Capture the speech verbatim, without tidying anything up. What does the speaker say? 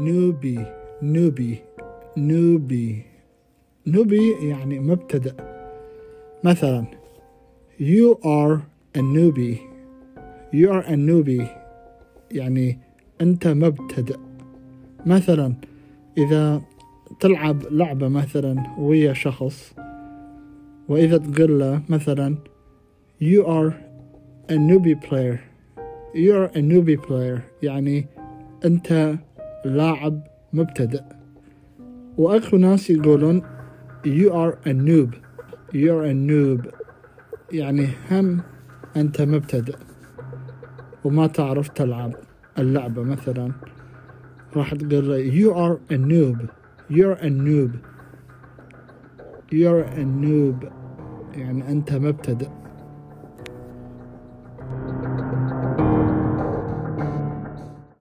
نوبي نوبي نوبي نوبي يعني مبتدأ. مثلا you are a newbie you are a newbie يعني أنت مبتدأ. مثلا إذا تلعب لعبة مثلا ويا شخص وإذا تقول له مثلا you are a newbie player you are a newbie player يعني أنت لاعب مبتدأ. وأكو ناس يقولون you are a noob you are a noob يعني هم أنت مبتدأ وما تعرف تلعب اللعبة. مثلا راح تقول له you are a noob you are a noob you are a noob يعني أنت مبتدأ.